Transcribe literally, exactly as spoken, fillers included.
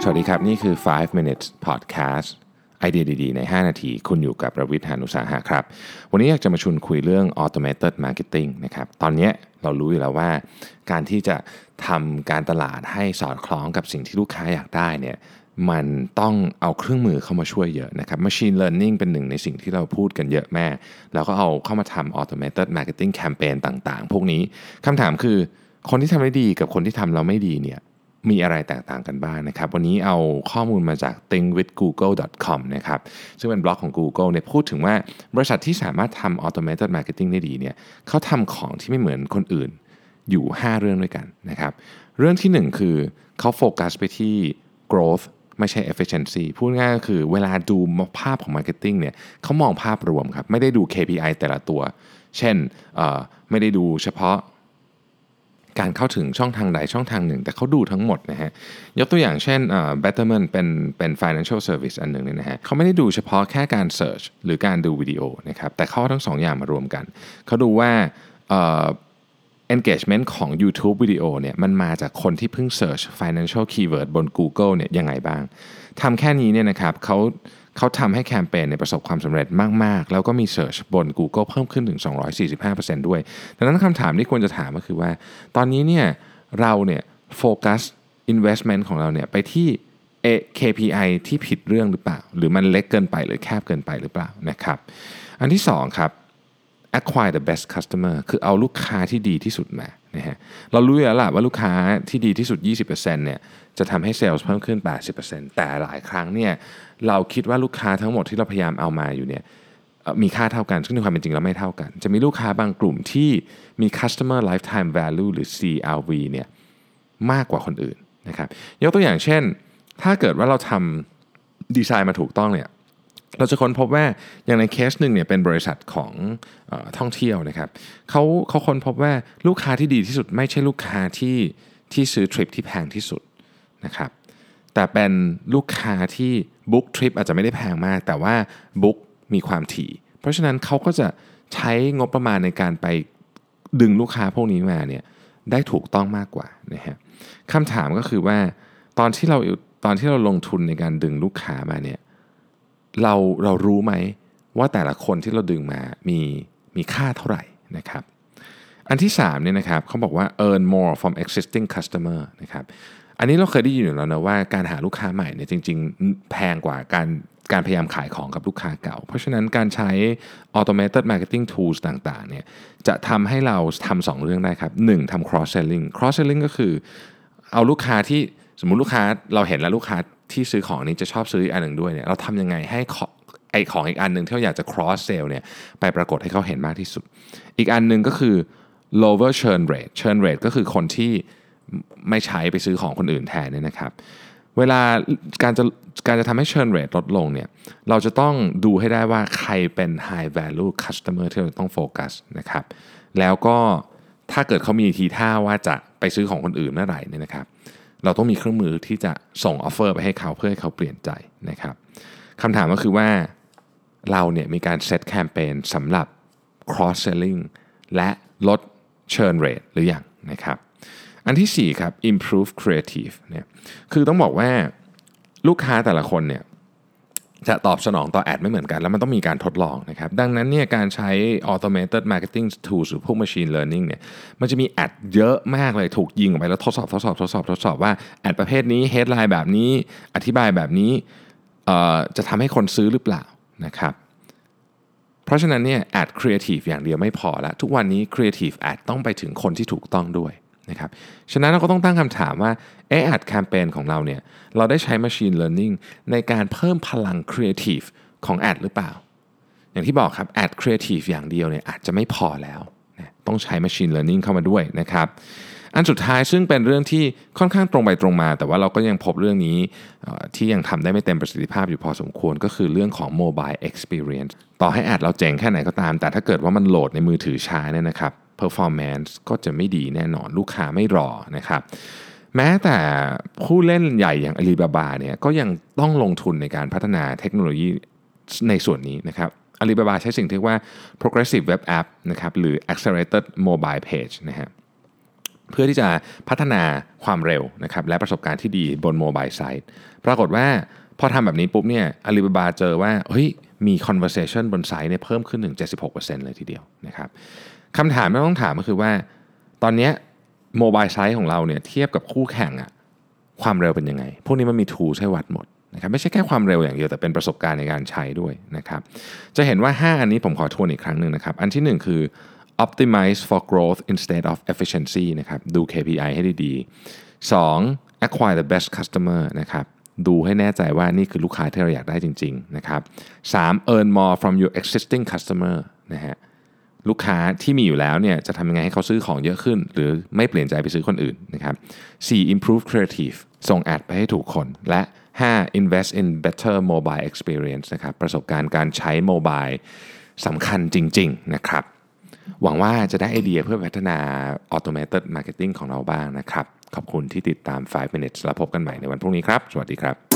วัสดีครับนี่คือไฟว์ minutes podcast ไอเดียดีๆในห้านาทีคุณอยู่กับประวิทย์ หาญอุตสาหะครับวันนี้อยากจะมาชวนคุยเรื่อง automated marketing นะครับตอนนี้เรารู้อยู่แล้วว่าการที่จะทำการตลาดให้สอดคล้องกับสิ่งที่ลูกค้าอยากได้เนี่ยมันต้องเอาเครื่องมือเข้ามาช่วยเยอะนะครับ machine learning เป็นหนึ่งในสิ่งที่เราพูดกันเยอะแม่แล้วก็เอาเข้ามาทำ automated marketing campaign ต่างๆพวกนี้คำถามคือคนที่ทำได้ดีกับคนที่ทำเราไม่ดีเนี่ยมีอะไรแตกต่างกันบ้าง น, นะครับวันนี้เอาข้อมูลมาจาก think with google dot com นะครับซึ่งเป็นบล็อกของ Google เนี่ยพูดถึงว่าบริษัทที่สามารถทำ automated marketing ได้ดีเนี่ยเขาทำของที่ไม่เหมือนคนอื่นอยู่ห้าเรื่องด้วยกันนะครับเรื่องที่หนึ่งคือเขาโฟกัสไปที่ growth ไม่ใช่ efficiency พูดง่ายก็คือเวลาดูภาพของ marketing เนี่ยเขามองภาพรวมครับไม่ได้ดู เค พี ไอ แต่ละตัวเช่นไม่ได้ดูเฉพาะการเข้าถึงช่องทางใดช่องทางหนึ่งแต่เขาดูทั้งหมดนะฮะยกตัวอย่างเช่นเอ่อ Betterment เป็นเป็น financial service อันหนึ่งเนี่ยนะฮะเขาไม่ได้ดูเฉพาะแค่การ search หรือการดูวิดีโอนะครับแต่เขาทั้งสองอย่างมารวมกันเขาดูว่าเอ่อ engagement ของ YouTube วิดีโอเนี่ยมันมาจากคนที่เพิ่ง search financial keyword บน Google เนี่ยยังไงบ้างทำแค่นี้เนี่ยนะครับเขาเขาทำให้แคมเปญเนี่ยประสบความสำเร็จมากๆแล้วก็มี Search บน Google เพิ่มขึ้นถึง สองร้อยสี่สิบห้าเปอร์เซ็นต์ ด้วยดังนั้นคำถามที่ควรจะถามก็คือว่าตอนนี้เนี่ยเราเนี่ยโฟกัส investment ของเราเนี่ยไปที่ เค พี ไอ ที่ผิดเรื่องหรือเปล่าหรือมันเล็กเกินไปหรือแคบเกินไปหรือเปล่านะครับอันที่สองครับ acquire the best customer คือเอาลูกค้าที่ดีที่สุดมานะฮะเรารู้อยู่แล้วล่ะว่าลูกค้าที่ดีที่สุด ยี่สิบเปอร์เซ็นต์ เนี่ยจะทำให้เซลล์เพิ่มขึ้น แปดสิบเปอร์เซ็นต์ แต่หลายครั้งเนี่ยเราคิดว่าลูกค้าทั้งหมดที่เราพยายามเอามาอยู่เนี่ยมีค่าเท่ากันซึ่งในความเป็นจริงแล้วไม่เท่ากันจะมีลูกค้าบางกลุ่มที่มี customer lifetime value หรือ ซี แอล วี เนี่ยมากกว่าคนอื่นนะครับยกตัวอย่างเช่นถ้าเกิดว่าเราทำดีไซน์มาถูกต้องเนี่ยเราจะค้นพบว่าอย่างในเคสหนึ่งเนี่ยเป็นบริษัทของเอ่อท่องเที่ยวนะครับเขาเขาค้นพบว่าลูกค้าที่ดีที่สุดไม่ใช่ลูกค้าที่ที่ซื้อทริปที่แพงที่สุดนะครับแต่เป็นลูกค้าที่บุ๊กทริปอาจจะไม่ได้แพงมากแต่ว่าบุ๊กมีความถี่เพราะฉะนั้นเขาก็จะใช้งบประมาณในการไปดึงลูกค้าพวกนี้มาเนี่ยได้ถูกต้องมากกว่านะฮะคำถามก็คือว่าตอนที่เราตอนที่เราลงทุนในการดึงลูกค้ามาเนี่ยเราเรารู้ไหมว่าแต่ละคนที่เราดึงมามีมีค่าเท่าไหร่นะครับอันที่สามเนี่ยนะครับเขาบอกว่า earn more from existing customer นะครับอันนี้เราเคยได้ยินอยู่แล้วนะว่าการหาลูกค้าใหม่เนี่ยจริงๆแพงกว่าการการพยายามขายของกับลูกค้าเก่าเพราะฉะนั้นการใช้ automated marketing tools ต่างๆเนี่ยจะทำให้เราทำสองเรื่องได้ครับหนึ่งทำ cross selling cross selling ก็คือเอาลูกค้าที่สมมุติลูกค้าเราเห็นแล้วลูกค้าที่ซื้อของนี้จะชอบซื้ออีกอันหนึ่งด้วยเนี่ยเราทำยังไงให้ไอของอีกอันหนึ่งที่เราอยากจะ cross sell เนี่ยไปปรากฏให้เขาเห็นมากที่สุดอีกอันหนึ่งก็คือ lower churn rate churn rate ก็คือคนที่ไม่ใช้ไปซื้อของคนอื่นแทนเนี่ยนะครับเวลาการจะการจะทำให้ churn rate ลดลงเนี่ยเราจะต้องดูให้ได้ว่าใครเป็น high value customer ที่เราต้องโฟกัสนะครับแล้วก็ถ้าเกิดเขามีทีท่าว่าจะไปซื้อของคนอื่นเมื่อไหร่เนี่ยนะครับเราต้องมีเครื่องมือที่จะส่งออฟเฟอร์ไปให้เขาเพื่อให้เขาเปลี่ยนใจนะครับคำถามก็คือว่าเราเนี่ยมีการเซตแคมเปญสำหรับ cross selling และลด churn rate หรือยังนะครับอันที่สี่ครับ improve creative เนี่ยคือต้องบอกว่าลูกค้าแต่ละคนเนี่ยจะตอบสนองต่อแอดไม่เหมือนกันแล้วมันต้องมีการทดลองนะครับดังนั้นเนี่ยการใช้ automated marketing tools หรือพวก machine learning เนี่ยมันจะมีแอดเยอะมากเลยถูกยิงออกไปแล้วทดสอบทดสอบทดสอบทดสอบว่าแอดประเภทนี้ headline แบบนี้อธิบายแบบนี้จะทำให้คนซื้อหรือเปล่านะครับเพราะฉะนั้นเนี่ยแอด creative อย่างเดียวไม่พอละทุกวันนี้ creative ad ต้องไปถึงคนที่ถูกต้องด้วยนะครับฉะนั้นเราก็ต้องตั้งคำถามว่าเออแอดแคมเปญของเราเนี่ยเราได้ใช้ Machine Learning ในการเพิ่มพลัง Creative ของแอดหรือเปล่าอย่างที่บอกครับแอด Creative อย่างเดียวเนี่ยอาจจะไม่พอแล้วนะต้องใช้ Machine Learning เข้ามาด้วยนะครับอันสุดท้ายซึ่งเป็นเรื่องที่ค่อนข้างตรงไปตรงมาแต่ว่าเราก็ยังพบเรื่องนี้ที่ยังทำได้ไม่เต็มประสิทธิภาพอยู่พอสมควรก็คือเรื่องของ Mobile Experience ต่อให้แอดเราเจ๋งแค่ไหนก็ตามแต่ถ้าเกิดว่ามันโหลดในมือถือช้าเนี่ยนะครับperformance ก็จะไม่ดีแน่นอนลูกค้าไม่รอนะครับแม้แต่ผู้เล่นใหญ่อย่าง Alibaba เนี่ยก็ยังต้องลงทุนในการพัฒนาเทคโนโลยีในส่วนนี้นะครับ Alibaba ใช้สิ่งที่เรียกว่า progressive web app นะครับหรือ accelerated mobile page นะฮะเพื่อที่จะพัฒนาความเร็วนะครับและประสบการณ์ที่ดีบนโมบายไซต์ปรากฏว่าพอทำแบบนี้ปุ๊บเนี่ย Alibaba เจอว่าเฮ้ยมี conversation บนไซต์เนี่ยเพิ่มขึ้นถึง เจ็ดสิบหกเปอร์เซ็นต์ เลยทีเดียวนะครับคำถามที่ต้องถามก็คือว่าตอนนี้โมบายไซต์ของเราเนี่ยเทียบกับคู่แข่งอะความเร็วเป็นยังไงพวกนี้มันมี tools ให้วัดหมดนะครับไม่ใช่แค่ความเร็วอย่างเดียวแต่เป็นประสบการณ์ในการใช้ด้วยนะครับจะเห็นว่าห้าอันนี้ผมขอทวนอีกครั้งหนึ่งนะครับอันที่หนึ่งคือ optimize for growth instead of efficiency นะครับดู เค พี ไอ ให้ดีๆสอง acquire the best customer นะครับดูให้แน่ใจว่านี่คือลูกค้าที่เราอยากได้จริงๆนะครับสาม earn more from your existing customer นะฮะลูกค้าที่มีอยู่แล้วเนี่ยจะทำยังไงให้เขาซื้อของเยอะขึ้นหรือไม่เปลี่ยนใจไปซื้อคนอื่นนะครับสี่ improve creative ส่งแอดไปให้ถูกคนและห้า invest in better mobile experience นะครับประสบการณ์การใช้โมบายสำคัญจริงๆนะครับหวังว่าจะได้ไอเดียเพื่อพัฒนา automated marketing ของเราบ้างนะครับขอบคุณที่ติดตามไฟว์ minutes แล้วพบกันใหม่ในวันพรุ่งนี้ครับสวัสดีครับ